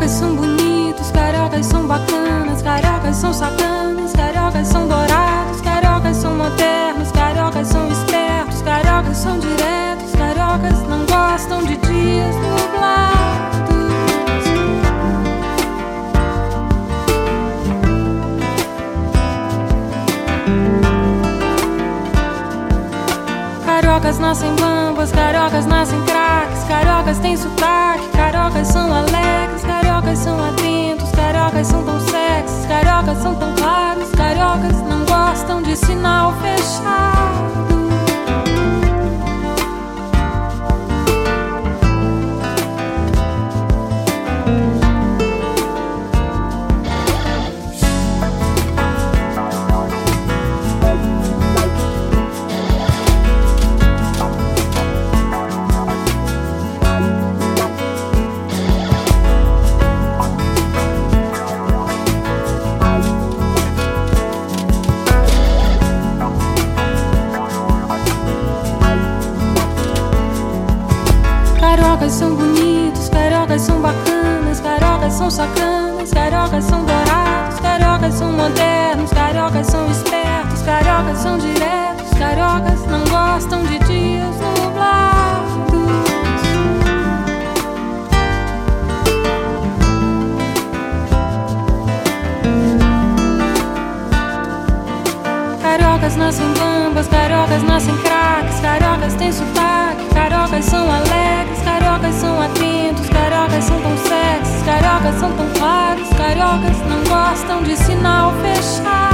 Cariocas são bonitos, cariocas são bacanas, cariocas são sacanas, cariocas são dourados, cariocas são modernos, cariocas são espertos, cariocas são diretos, cariocas não gostam de dias nublados. Cariocas nascem bambas, cariocas nascem craques, cariocas têm sotaque, cariocas são alegres, cariocas são atentos, cariocas são tão sexys, cariocas são tão claros, cariocas não gostam de sinal fechado. Cariocas são bonitos, cariocas são bacanas, cariocas são sacanas, cariocas são dourados, cariocas são modernos, cariocas são espertos, cariocas são diretos, cariocas não gostam de dias nublados. Cariocas nascem bambas, cariocas nascem craques, cariocas têm sotaque, cariocas são alegres, cariocas são atentos, cariocas são tão sexys, cariocas são tão claros, cariocas não gostam de sinal fechado.